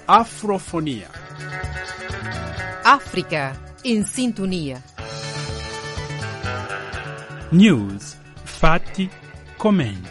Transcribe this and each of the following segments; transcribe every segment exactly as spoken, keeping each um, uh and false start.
Afrofonia. Africa in sintonia. News, fatti, commenti.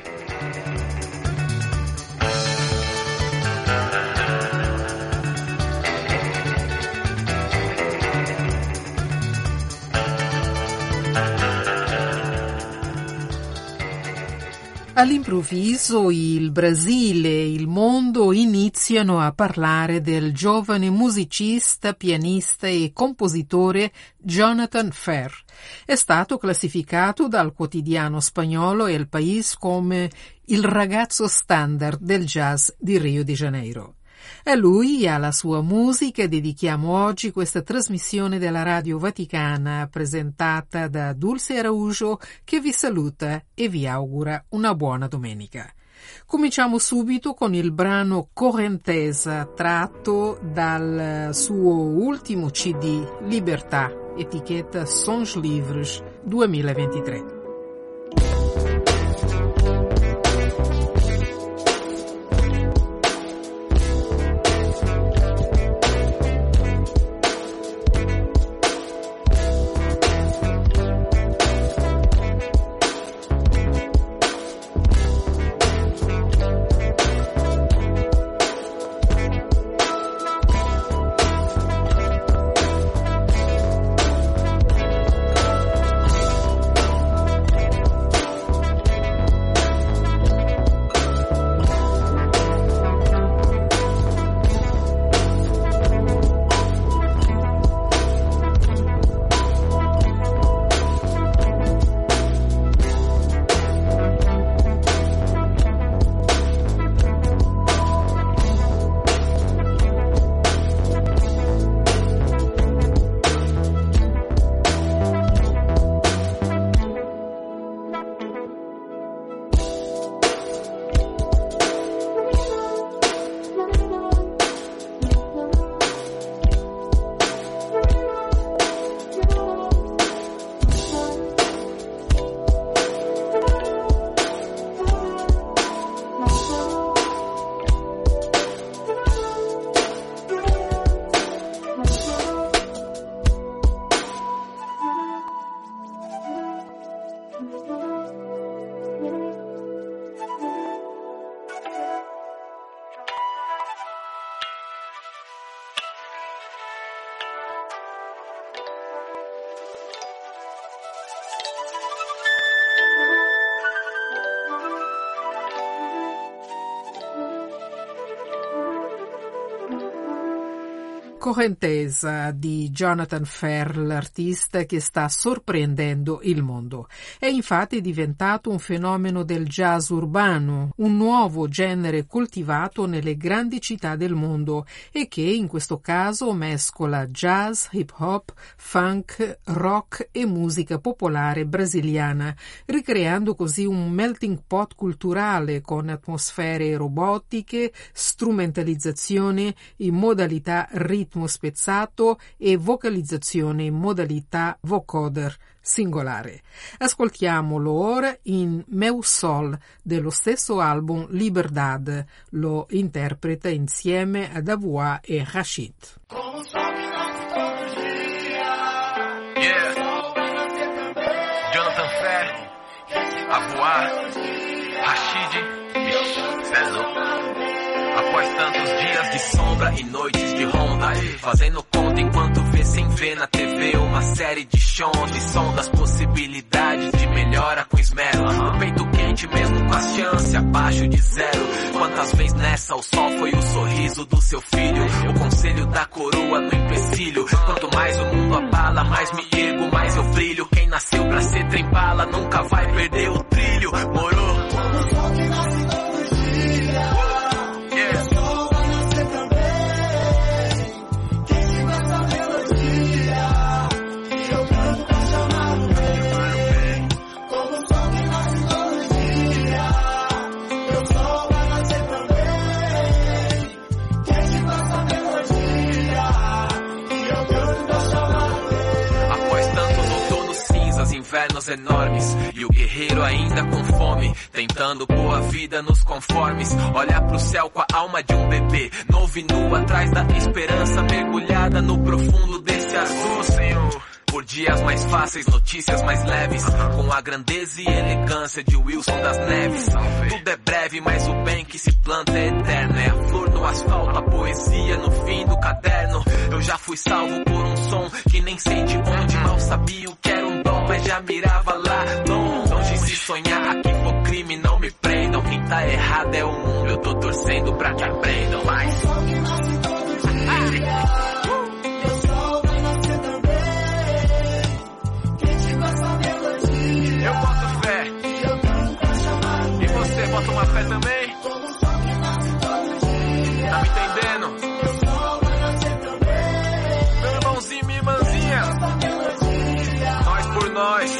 All'improvviso il Brasile e il mondo iniziano a parlare del giovane musicista, pianista e compositore Jonathan Ferr. È stato classificato dal quotidiano spagnolo El País come il ragazzo standard del jazz di Rio de Janeiro. A lui e alla sua musica dedichiamo oggi questa trasmissione della Radio Vaticana presentata da Dulce Araujo, che vi saluta e vi augura una buona domenica. Cominciamo subito con il brano Correntesa, tratto dal suo ultimo C D Libertà, etichetta Sons Livres duemilaventitré. Correntesa di Jonathan Ferr, l'artista che sta sorprendendo il mondo. È infatti diventato un fenomeno del jazz urbano, un nuovo genere coltivato nelle grandi città del mondo e che in questo caso mescola jazz, hip hop, funk, rock e musica popolare brasiliana, ricreando così un melting pot culturale con atmosfere robotiche, strumentalizzazione in modalità ritmo spezzato e vocalizzazione in modalità vocoder singolare. Ascoltiamolo ora in Meu Sol dello stesso album Liberdade. Lo interpreta insieme ad Avoa e Rashid. Yeah. Jonathan Ferr, Avoa, Rashid. Cê é louco. Após tantos dias de sombra e noites de ronda, fazendo conta enquanto vê sem ver na T V uma série de shows de som das possibilidades de melhora com esmero. O peito quente mesmo com a chance abaixo de zero. Quantas vezes nessa o sol foi o sorriso do seu filho, o conselho da coroa no empecilho. Quanto mais o mundo abala, mais me ergo, mais eu brilho. Quem nasceu pra ser trem-bala nunca vai perder o trilho. Morou? Após infernos enormes e o guerreiro ainda com fome, tentando pôr a vida nos conformes. Olha pro céu com a alma de um bebê, novo e nu atrás da esperança, mergulhada no profundo desse azul, Senhor. Por dias mais fáceis, notícias mais leves, com a grandeza e elegância de Wilson das Neves. Tudo é breve, mas o bem que se planta é eterno. É a flor no asfalto, a poesia no fim do caderno. Eu já fui salvo por um som que nem sei de onde, mal sabia o que era um dom, mas já mirava lá longe. Se sonhar aqui for crime, não me prendam. Quem tá errado é o mundo, eu tô torcendo pra que aprendam. Mas eu boto fé. E você bota uma fé também? Tá me entendendo? Meu irmãozinho, minha irmãzinha, nós por nós.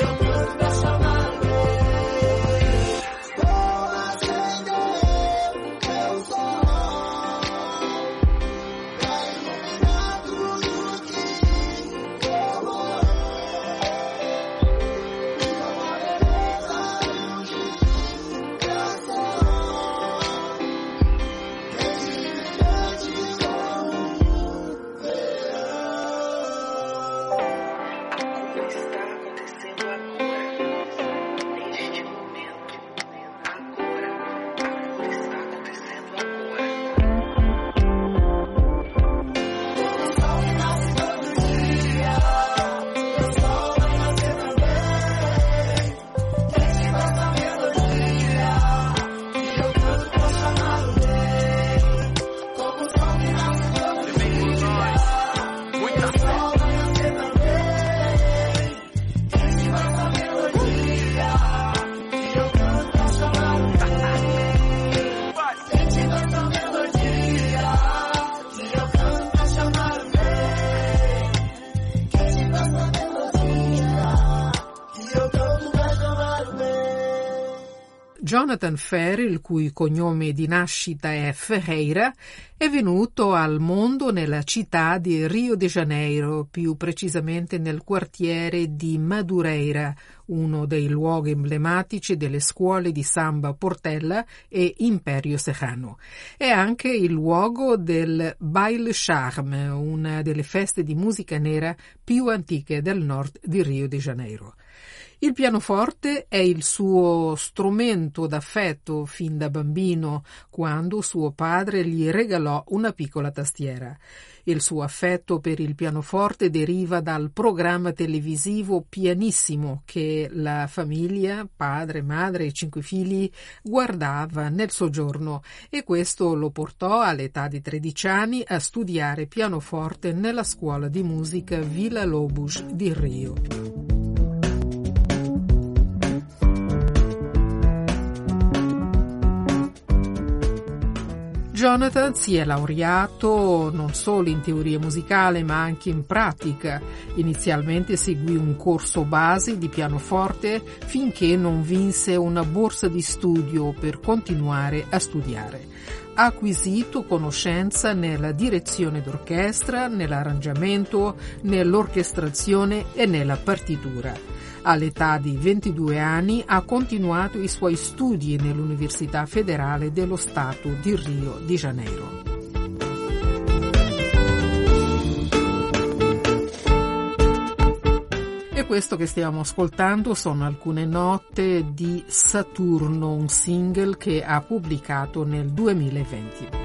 Jonathan Ferri, il cui cognome di nascita è Ferreira, è venuto al mondo nella città di Rio de Janeiro, più precisamente nel quartiere di Madureira, uno dei luoghi emblematici delle scuole di samba Portella e Imperio Serrano. È anche il luogo del Baile Charme, una delle feste di musica nera più antiche del nord di Rio de Janeiro. Il pianoforte è il suo strumento d'affetto fin da bambino, quando suo padre gli regalò una piccola tastiera. Il suo affetto per il pianoforte deriva dal programma televisivo Pianissimo che la famiglia, padre, madre e cinque figli, guardava nel soggiorno, e questo lo portò all'età di tredici anni a studiare pianoforte nella scuola di musica Villa Lobos di Rio. Jonathan si è laureato non solo in teoria musicale ma anche in pratica. Inizialmente seguì un corso base di pianoforte finché non vinse una borsa di studio per continuare a studiare. Ha acquisito conoscenza nella direzione d'orchestra, nell'arrangiamento, nell'orchestrazione e nella partitura. All'età di ventidue anni ha continuato i suoi studi nell'Università Federale dello Stato di Rio de Janeiro. E questo che stiamo ascoltando sono alcune note di Saturno, un single che ha pubblicato nel duemilaventi.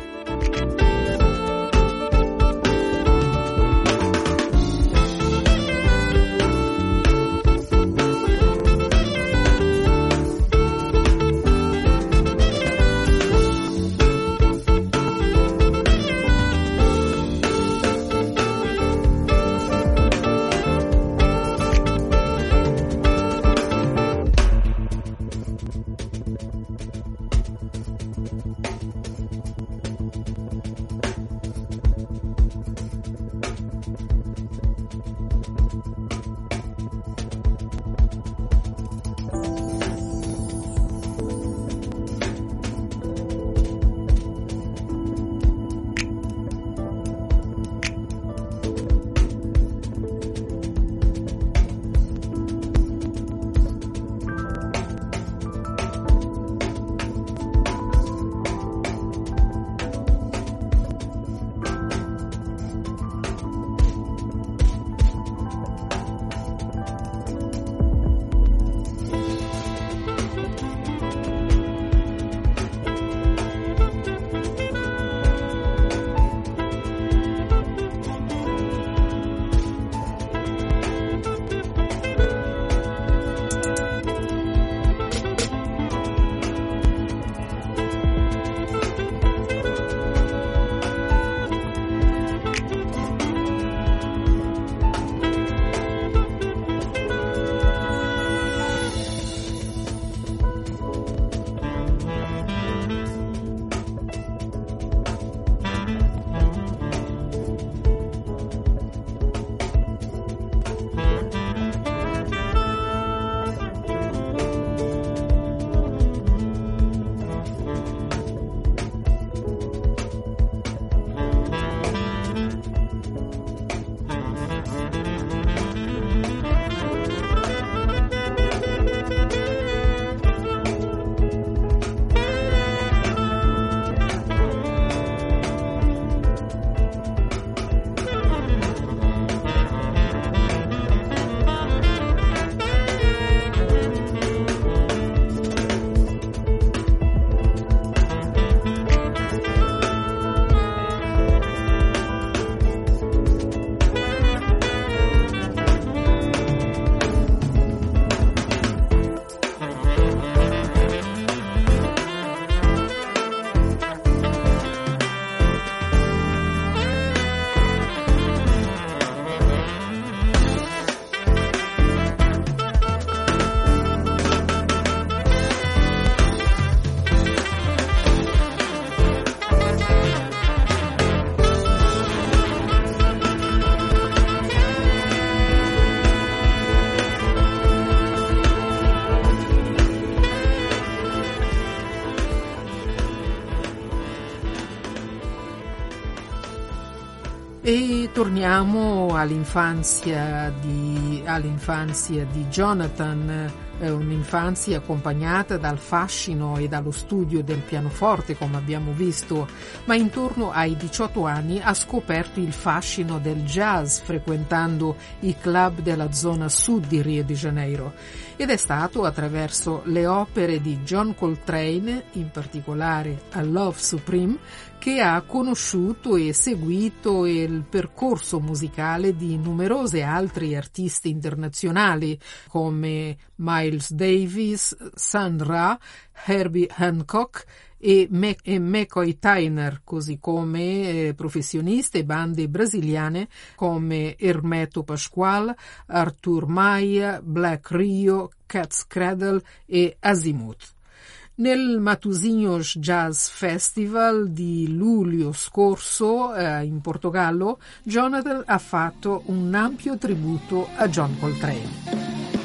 Torniamo all'infanzia di, all'infanzia di Jonathan, eh, un'infanzia accompagnata dal fascino e dallo studio del pianoforte, come abbiamo visto, ma intorno ai diciotto anni ha scoperto il fascino del jazz frequentando i club della zona sud di Rio de Janeiro, ed è stato attraverso le opere di John Coltrane, in particolare a Love Supreme, che ha conosciuto e seguito il percorso musicale di numerosi altri artisti internazionali come Miles Davis, Sun Ra, Herbie Hancock e, Me- e McCoy Tyner, così come eh, professionisti e bande brasiliane come Hermeto Pascoal, Arthur Maia, Black Rio, Cat's Cradle e Azimuth. Nel Matosinhos Jazz Festival di luglio scorso eh, in Portogallo, Jonathan ha fatto un ampio tributo a John Coltrane.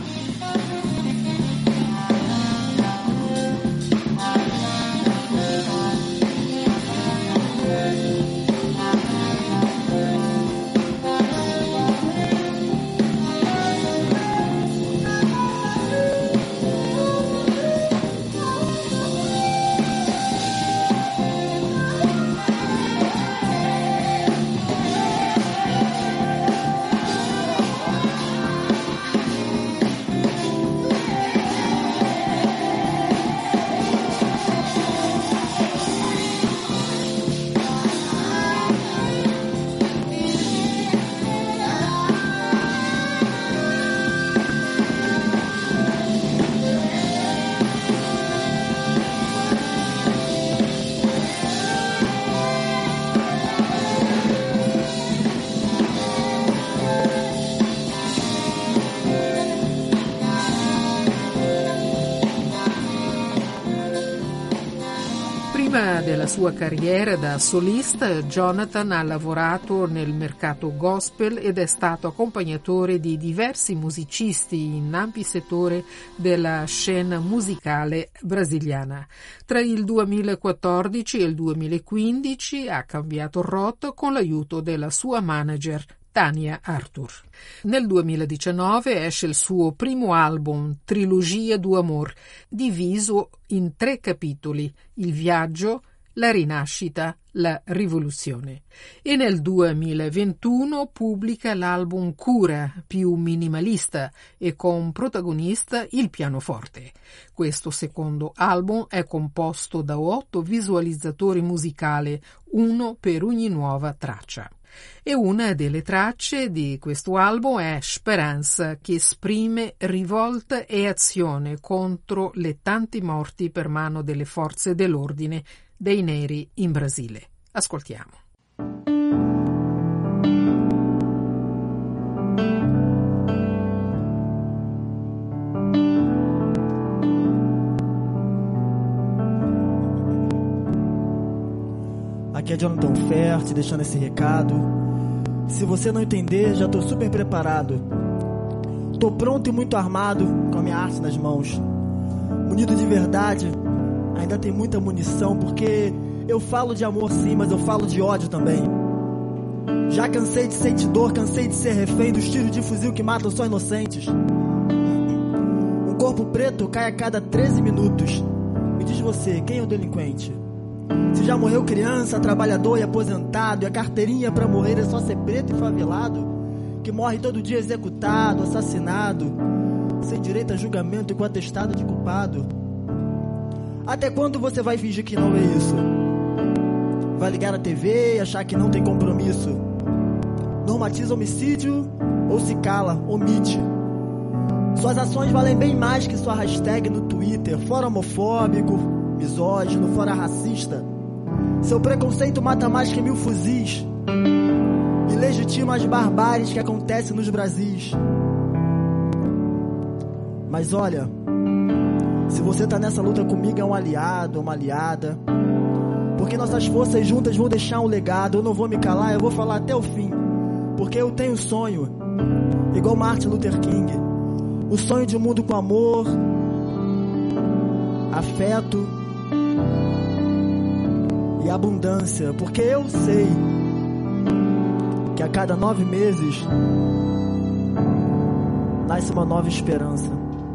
Prima della sua carriera da solista, Jonathan ha lavorato nel mercato gospel ed è stato accompagnatore di diversi musicisti in ampi settori della scena musicale brasiliana. Tra il duemilaquattordici e il duemilaquindici ha cambiato rotta con l'aiuto della sua manager Tania Arthur. Nel duemiladiciannove esce il suo primo album, Trilogia do Amor, diviso in tre capitoli: il viaggio, la rinascita, la rivoluzione. E nel duemilaventuno pubblica l'album Cura, più minimalista e con protagonista il pianoforte. Questo secondo album è composto da otto visualizzatori musicali, uno per ogni nuova traccia. E una delle tracce di questo album è Speranza, che esprime rivolta e azione contro le tanti morti per mano delle forze dell'ordine dei neri in Brasile. Ascoltiamo. Aqui é Jonathan Fer, te deixando esse recado. Se você não entender, já tô super preparado. Tô pronto e muito armado, com a minha arte nas mãos. Munido de verdade, ainda tem muita munição, porque eu falo de amor sim, mas eu falo de ódio também. Já cansei de sentir dor, cansei de ser refém dos tiros de fuzil que matam só inocentes. Um corpo preto cai a cada treze minutos. Me diz você, quem é o delinquente? Se já morreu criança, trabalhador e aposentado, e a carteirinha pra morrer é só ser preto e favelado, que morre todo dia executado, assassinado, sem direito a julgamento e com atestado de culpado. Até quando você vai fingir que não vê isso? Vai ligar a T V e achar que não tem compromisso? Normatiza homicídio ou se cala, omite? Suas ações valem bem mais que sua hashtag no Twitter, fora homofóbico, misógino, fora racista. Seu preconceito mata mais que mil fuzis e legitima as barbáries que acontecem nos Brasis. Mas olha, se você tá nessa luta comigo, é um aliado, uma aliada, porque nossas forças juntas vão deixar um legado. Eu não vou me calar, eu vou falar até o fim, porque eu tenho sonho, igual Martin Luther King, o sonho de um mundo com amor, afeto e abundância, porque eu sei que a cada nove meses nasce uma nova esperança.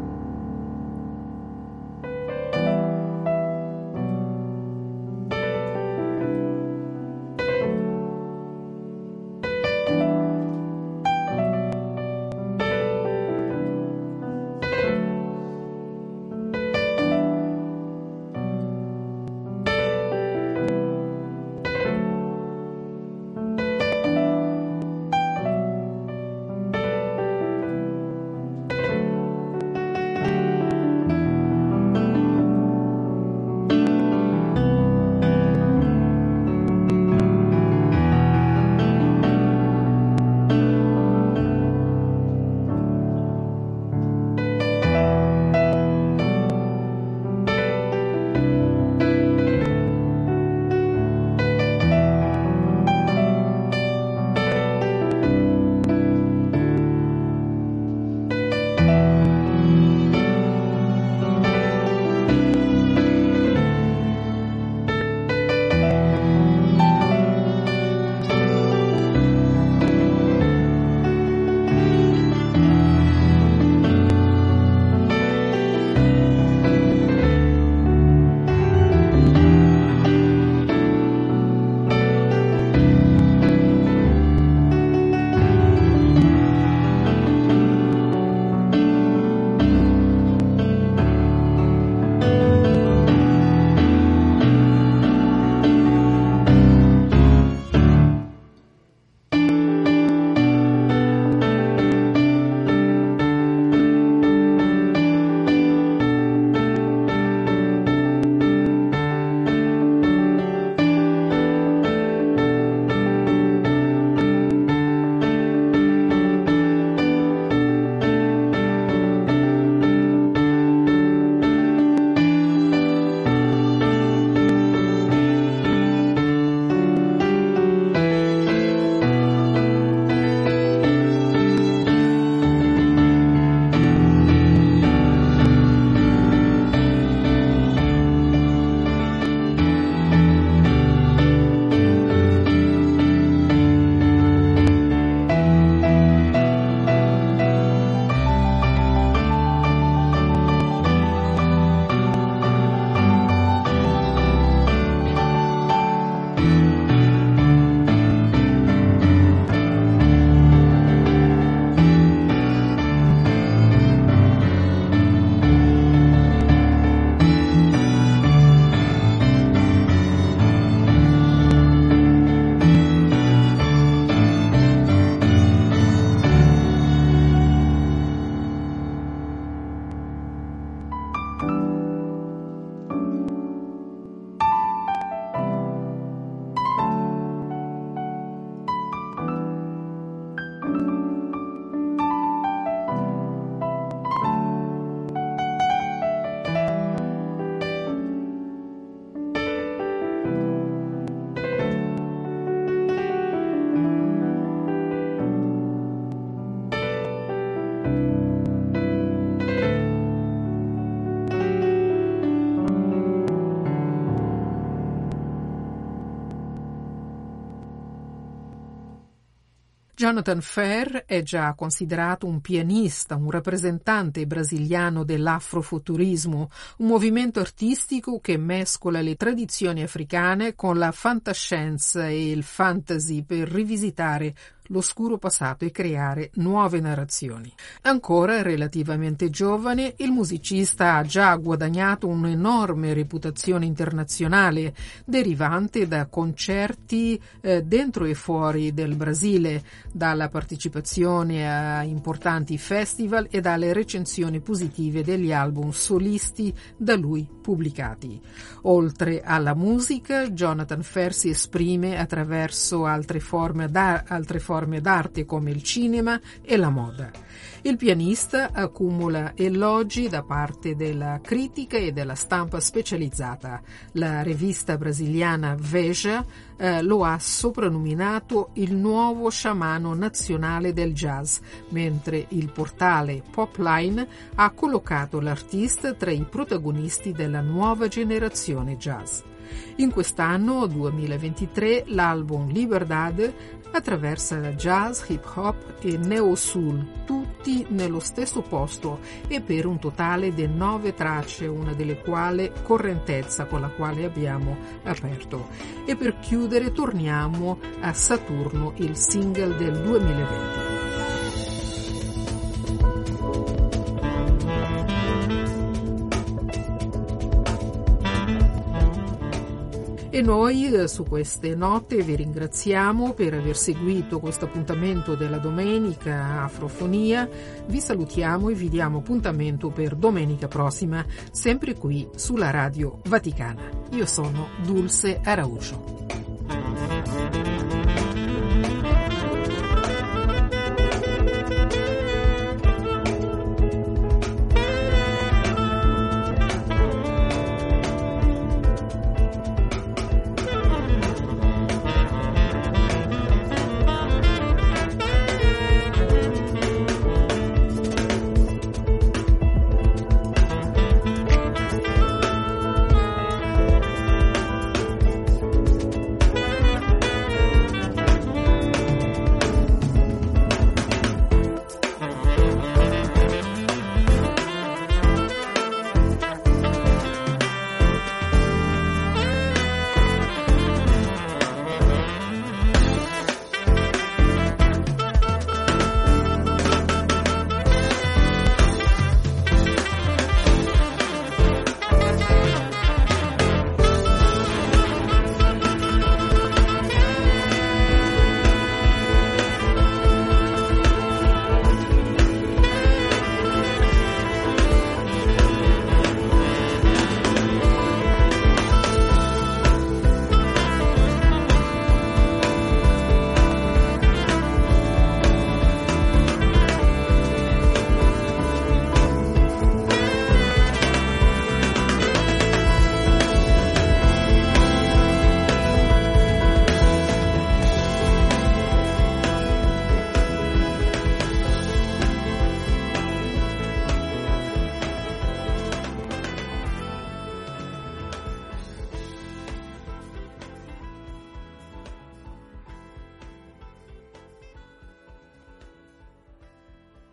Jonathan Ferr è già considerato un pianista, un rappresentante brasiliano dell'afrofuturismo, un movimento artistico che mescola le tradizioni africane con la fantascienza e il fantasy per rivisitare l'oscuro passato e creare nuove narrazioni. Ancora relativamente giovane, il musicista ha già guadagnato un'enorme reputazione internazionale derivante da concerti eh, dentro e fuori del Brasile, dalla partecipazione a importanti festival e dalle recensioni positive degli album solisti da lui pubblicati. Oltre alla musica, Jonathan Ferr si esprime attraverso altre forme, da, altre forme d'arte come il cinema e la moda. Il pianista accumula elogi da parte della critica e della stampa specializzata. La rivista brasiliana Veja eh, lo ha soprannominato il nuovo sciamano nazionale del jazz, mentre il portale Popline ha collocato l'artista tra i protagonisti della nuova generazione jazz. In quest'anno duemilaventitré l'album Liberdad attraversa jazz, hip hop e neo soul, tutti nello stesso posto e per un totale di nove tracce, una delle quali Correntezza, con la quale abbiamo aperto. E per chiudere torniamo a Saturno, il single del duemilaventi. E noi su queste note vi ringraziamo per aver seguito questo appuntamento della domenica Afrofonia. Vi salutiamo e vi diamo appuntamento per domenica prossima, sempre qui sulla Radio Vaticana. Io sono Dulce Araujo.